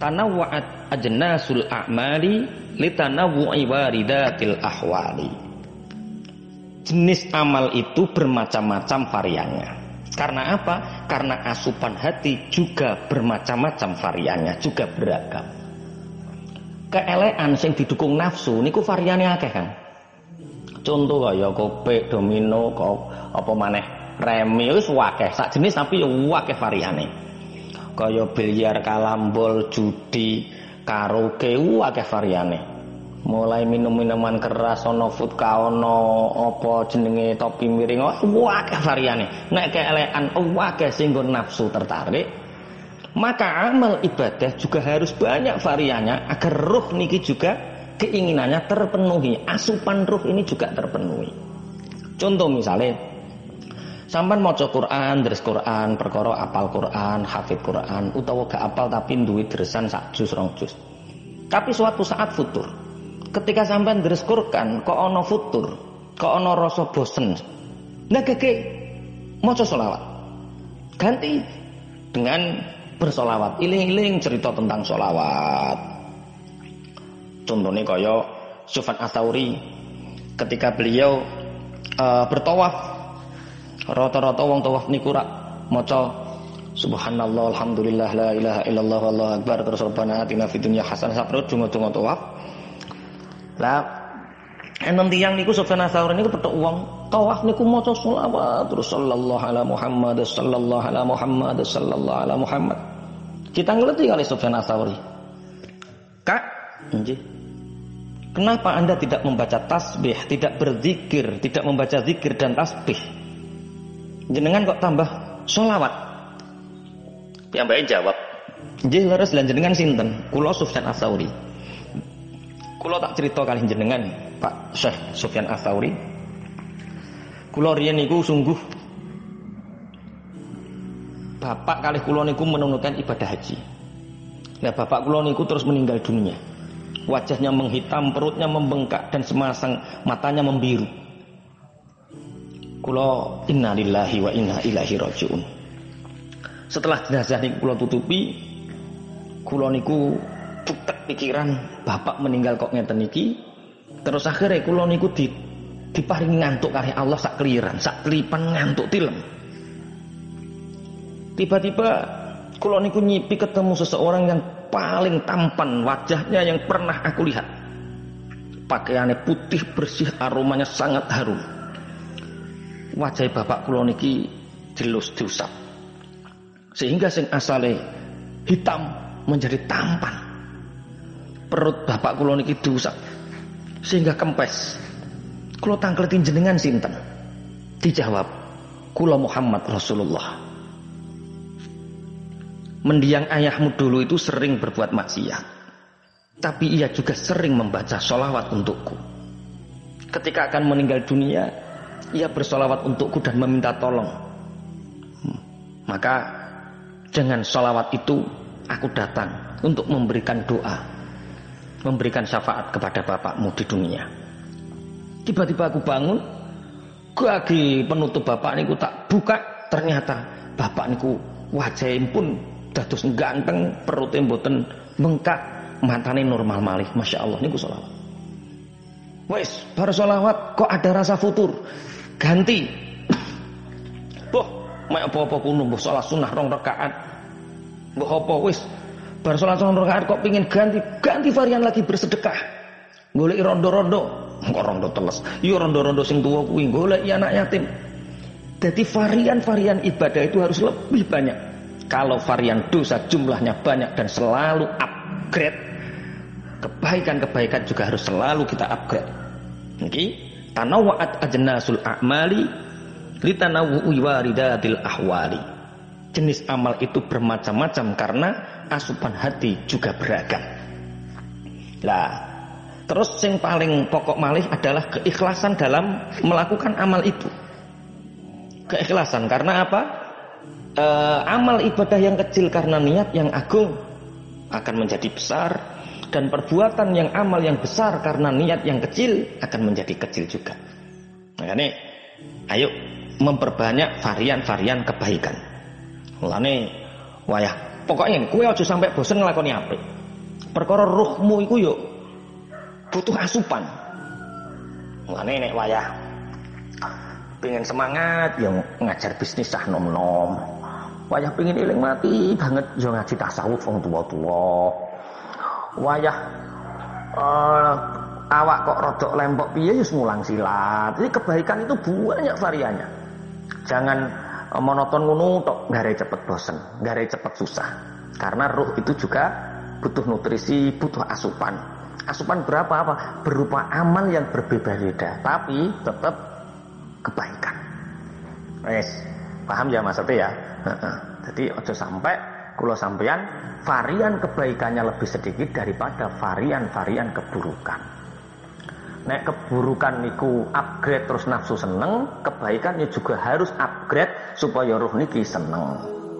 tanawwa'at ajnasul a'mali litanawwu'i waridatil ahwali. Jenis amal itu bermacam-macam variannya. Karena apa? Karena asupan hati juga bermacam-macam variannya, juga beragam. Keelekan sing didukung nafsu niku variane akeh kan. Contoh kaya kopek, domino, apa maneh remi wis akeh, sak jenis tapi akeh variane. Kaya biliar, kalambol, judi, karaoke akeh variane. Mulai minum-minuman keras, ono vodka, ono apa jenenge topi miring, akeh variane. Nek keelekan akeh sing nggon nafsu tertarik, maka amal ibadah juga harus banyak variannya agar ruh niki juga keinginannya terpenuhi, asupan ruh ini juga terpenuhi. Contoh misalnya sampean maca Quran, deres Quran, perkara apal Quran, hafid Quran, utawa gak apal tapi duwe dresan sak juz rong juz. Tapi suatu saat futur. Ketika sampean deres Quran kok ana futur, kok ana rasa bosen. Nah keke maca selawat. Ganti dengan bersolawat, iling-iling cerita tentang solawat. Contohnya kaya Sufyan Ats-Tsauri ketika beliau bertawaf, rata-rata wong tawaf niku rak maca subhanallah alhamdulillah la ilaha illallah wallahu akbar terus rabbana atina fid dunya hasanah saprut donga-donga tawaf. Lah enten tiyang niku Sufyan Ats-Tsauri niku petuk wong tawaf niku maca selawat terus sallallahu ala Muhammad sallallahu ala Muhammad sallallahu ala Muhammad. Kita ngerti kali Sufyan Ats-Tsauri. Kak, nggih. Kenapa Anda tidak membaca tasbih, tidak berzikir, tidak membaca zikir dan tasbih? Jenengan kok tambah sholawat? Piyambake jawab, nggih leres lan jenengan sinten? Kula Sufyan Ats-Tsauri. Kula tak cerita kali jenengan, Pak Syekh Sufyan Ats-Tsauri. Kula riyen niku sungguh bapak kali kula niku menunaikan ibadah haji. Nah, bapak kula niku terus meninggal dunia. Wajahnya menghitam, perutnya membengkak dan semasang matanya membiru. Kula innalillahi wa inna ilaihi rajiun. Setelah jenazah niku kula tutupi, kula niku butek pikiran bapak meninggal kok ngeten iki. Terus akhirnya kula niku diparingi ngantuk kali Allah sak keliran, sak kelipan ngantuk tilem. Tiba-tiba kula niku nyipi ketemu seseorang yang paling tampan wajahnya yang pernah aku lihat. Pakaiannya putih bersih, aromanya sangat harum. Wajah bapak kula niki dilus diusap. Sehingga sing asale hitam menjadi tampan. Perut bapak kula niki diusap sehingga kempes. Kula tangkletin jenengan sinten? Dijawab, kula Muhammad Rasulullah. Mendiang ayahmu dulu itu sering berbuat maksiat, tapi ia juga sering membaca sholawat untukku. Ketika akan meninggal dunia, ia bersolawat untukku dan meminta tolong. Maka dengan sholawat itu aku datang untuk memberikan doa, memberikan syafaat kepada bapakmu di dunia. Tiba-tiba aku bangun, gagi penutup bapak niku tak buka, ternyata bapak niku wajahnya pun dados ganteng, perutnya mboten bengkak, matane normal malih. Masya Allah niku sholawat. Wes baru sholawat kok ada rasa futur, ganti. Boh, mek apa-apa kuno, boh sholat sunnah 2 rakaat. Boh apa wes baru sholat 2 rakaat kok pingin ganti varian lagi bersedekah. Golek rondo-rondo, kok rondo teles. Yo rondo-rondo sing tuwa kuwi golek anak yatim. Jadi varian-varian ibadah itu harus lebih banyak. Kalau varian dosa jumlahnya banyak dan selalu upgrade, kebaikan-kebaikan juga harus selalu kita upgrade. Niki tanawwa'at ajnasul a'mali litanawwu'i waridatil ahwali. Jenis amal itu bermacam-macam karena asupan hati juga beragam. Lah, terus yang paling pokok malih adalah keikhlasan dalam melakukan amal itu. Keikhlasan karena apa? Amal ibadah yang kecil karena niat yang agung akan menjadi besar, dan perbuatan yang amal yang besar karena niat yang kecil akan menjadi kecil juga. Makanya ayo memperbanyak varian-varian kebaikan. Mulane wayah Pokoknya kowe aja sampai bosen nglakoni apik. Perkara ruhmu iku yo butuh asupan. Mulane nek wayah pengen semangat ya ngajar bisnis sah nom-nom. Wayah pengen eling mati banget ya ngaji tasawuf wong tuwa-tuwa. Wayah awak kok rodok lempok piye ya mulang silat. Jadi kebaikan itu banyak variannya. Jangan monoton ngono tok, gare cepet bosen, gare cepet susah. Karena ruh itu juga butuh nutrisi, butuh asupan. Asupan berapa apa? Berupa amal yang berbeda-beda, tapi tetap kebaikan. Wes, paham ya maksudnya ya? Jadi ojo sampai kula sampeyan varian kebaikannya lebih sedikit daripada varian-varian keburukan. Nek keburukan niku upgrade terus nafsu seneng, kebaikannya juga harus upgrade supaya ruh niki seneng.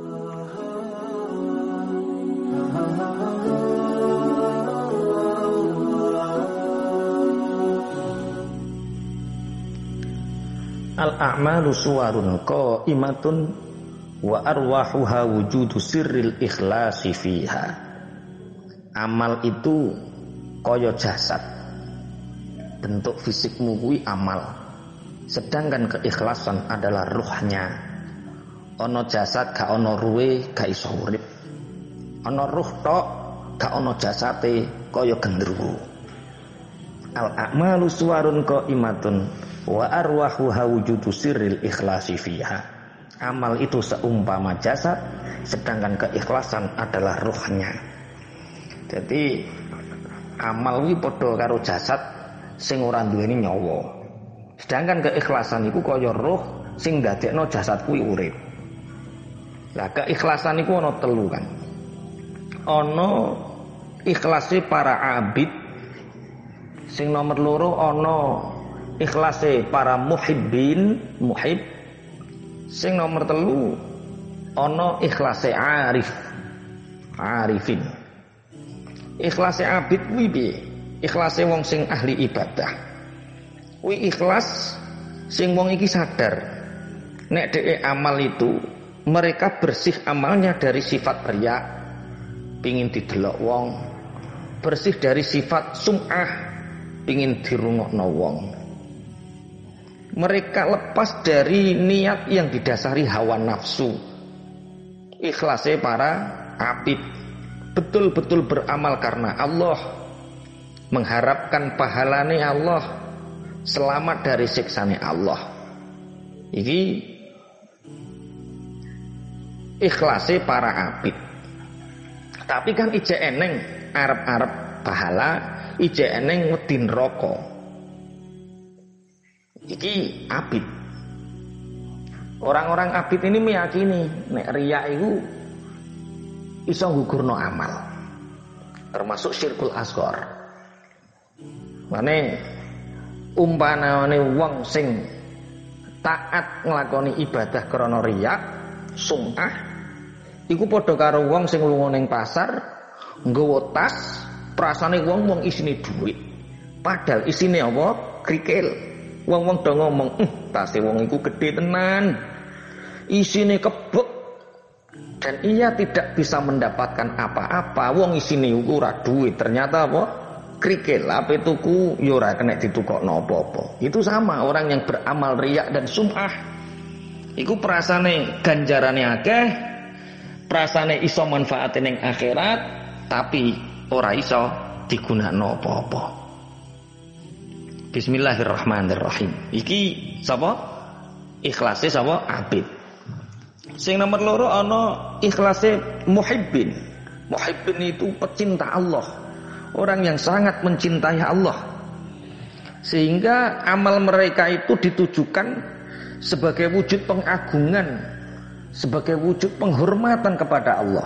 Al-a'malu suwarun qa'imatun wa arwahuha wujudu sirril ikhlasi fiha. Amal itu kaya jasad. Bentuk fisikmu kuwi amal. Sedangkan keikhlasan adalah ruhnya. Ana jasad gak ana ruhe gak iso urip. Ana ruh tok gak ana jasate kaya gendruwo. Al-a'malu suwarun qa'imatun wa arwahuha wujudu sirril ikhlasi fiha. Amal itu seumpama jasad, sedangkan keikhlasan adalah ruhnya. Jadi amal kuwi padha karo jasad sing ora duweni nyawa. Sedangkan keikhlasan iku kaya roh sing ndadekno jasad kuwi urip. Lah keikhlasan iku ana telu kan. Ana ikhlase para abid. Sing nomor loro ana ikhlase para muhibbin, muhib. Sing nomor telu ana ikhlase arif, arifin. Ikhlase abid kuwi piye? Ikhlase wong sing ahli ibadah. Kuwi ikhlas sing wong iki sadar nek dhek amal itu mereka bersih amalnya dari sifat riya, pingin didelok wong, bersih dari sifat sum'ah, pingin dirungokno wong. Mereka lepas dari niat yang didasari hawa nafsu. Ikhlase para abid betul-betul beramal karena Allah, mengharapkan pahalane Allah, selamat dari siksane Allah. Iki ikhlase para abid. Tapi kan ije eneng arep-arep pahala, ije eneng wedi neraka. Iki abid. Orang-orang abid ini meyakini nek riya itu iso nggugurno amal. Termasuk syirkul asghar. Mane umpanane wong sing taat nglakoni ibadah krana riya, sum'ah, iku padha karo wong sing lunga ning pasar nggawa tas, prasane wong isine dhuwit. Padahal isine apa? Krikil. Wong-wong do ngomong, tase wong iku gedhe tenan. Isine kebek dan ia tidak bisa mendapatkan apa-apa. Wong isine iku ora duit, ternyata apa? Krikil, ape tuku ya ora kena ditukokno apa-apa. Itu sama orang yang beramal riya dan sum'ah. Iku prasane ganjarane akeh, prasane iso manfaate ning akhirat, tapi ora iso digunakno apa-apa. Bismillahirrahmanirrahim. Iki sapa? Ikhlase sapa? Abid. Sing nomor loro ana ikhlase muhibbin. Muhibbin itu pecinta Allah. Orang yang sangat mencintai Allah. Sehingga amal mereka itu ditujukan sebagai wujud pengagungan, sebagai wujud penghormatan kepada Allah.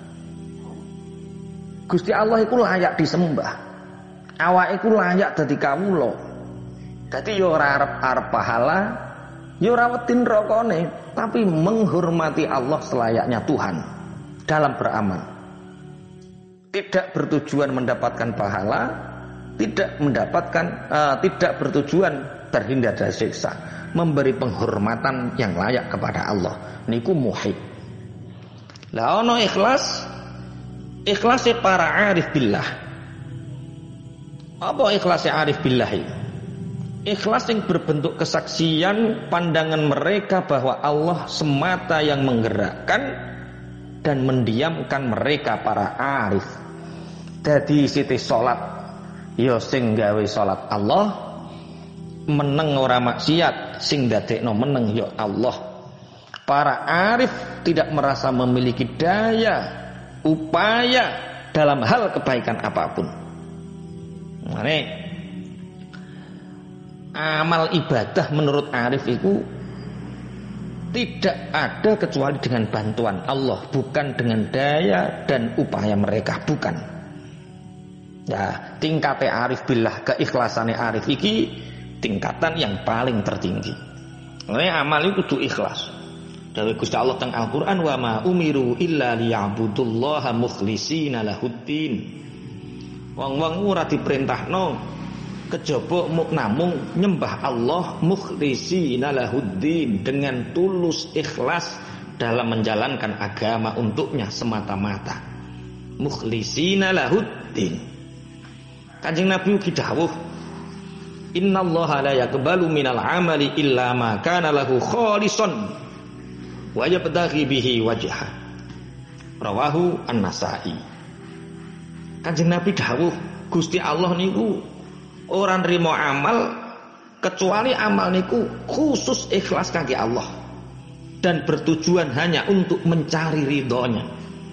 Gusti Allah itu layak disembah. Awak itu layak dadi kawula. Dadi ya ora arep-arep pahala, ya ora wedi nerakane, tapi menghormati Allah selayaknya Tuhan dalam beramal. Tidak bertujuan mendapatkan pahala, tidak bertujuan terhindar dari siksa, memberi penghormatan yang layak kepada Allah. Niku muhib. Lah ono ikhlas, ikhlase para arif billah. Apa ikhlase arif billah itu? Ikhlas yang berbentuk kesaksian pandangan mereka bahwa Allah semata yang menggerakkan dan mendiamkan mereka para arif. Dadi siti salat ya sing gawe salat Allah, meneng ora maksiat sing dadekno meneng ya Allah. Para arif tidak merasa memiliki daya upaya dalam hal kebaikan apapun. Mane amal ibadah menurut arif itu tidak ada kecuali dengan bantuan Allah, bukan dengan daya dan upaya mereka, bukan. Ya, tingkate arif billah, keikhlasannya arif iki tingkatan yang paling tertinggi. Oleh amal itu kudu ikhlas. Dawuh Gusti Allah teng Al-Qur'an, wa ma umiru illa liya'budullaha mukhlishina lahuddin. Wong-wong ora diperintahno kejaba namung nyembah Allah mukhlishina lahuddin, dengan tulus ikhlas dalam menjalankan agama untuknya semata-mata. Mukhlishina lahuddin. Kanjeng Nabi ugi dawuh, innallaha la yaqbalu minal amali illa ma kana lahu khalisan wa yabtaghi bihi wajha. Rawahu An-Nasa'i. Kanjeng Nabi dawuh, Gusti Allah niku ora nrimo amal kecuali amal niku khusus ikhlas kangge Allah dan bertujuan hanya untuk mencari ridhonya.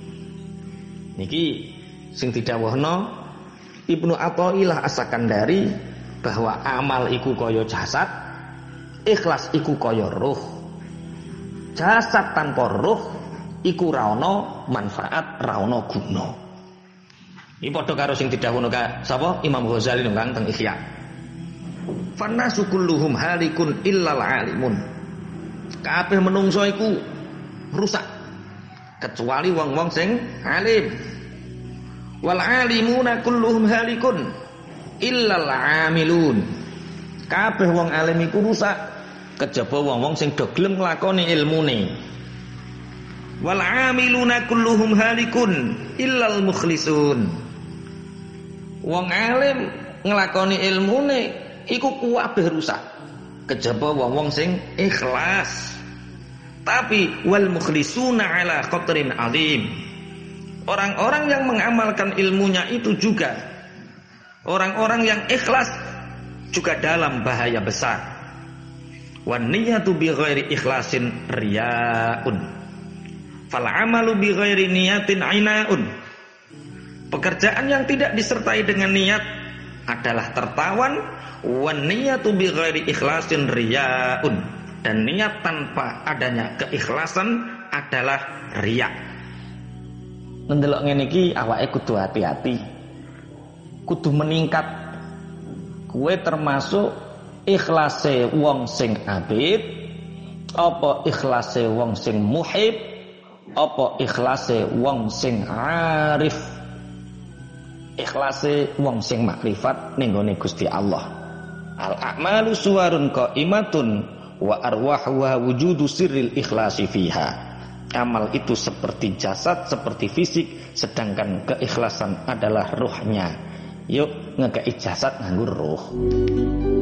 Niki sing didhawuhna Ibnu Athaillah As-Sakandari bahwa amal iku kaya jasad, ikhlas iku kaya ruh. Jasad tanpa ruh iku ra ono manfaat, ra ono guna. Ini padha karo sing didhawuhna sapa Imam Ghazali nang teng Ihya. Fannasu kulluhum halikun illal alimun. Kabeh menungso iku rusak kecuali wong-wong sing alim. Wal alimuna kulluhum halikun illal amilun. Kabeh wong alim iku rusak kejaba wong-wong sing do gelem nglakoni ilmune. Wal amiluna kulluhum halikun illal mukhlisun. Wong alim nglakoni ilmune iku kabeh rusak kejaba wong-wong sing ikhlas. Tapi wal mukhlisuna ala qadrin azim. Orang-orang yang mengamalkan ilmunya itu juga orang-orang yang ikhlas juga dalam bahaya besar. Wan niyatu bi ghairi ikhlasin riyaun. Fal amalu bi ghairi niyatin ainaun. Pekerjaan yang tidak disertai dengan niat adalah tertawan. Wan niyatu bi ghairi ikhlasin riyaun. Dan niat tanpa adanya keikhlasan adalah riya. Ndelok ngene iki awake kudu hati-hati. Kudu meningkat. Kuwe termasuk ikhlase wong sing abid, apa ikhlase wong sing muhib, apa ikhlase wong sing arif. Ikhlase wong sing makrifat ning gone Gusti Allah. Al a'malu suwarun qaimatun wa arwahuha wujudu sirril ikhlasi fiha. Amal itu seperti jasad, seperti fisik, sedangkan keikhlasan adalah ruhnya. Yuk ngekei jasad nganggo ruh.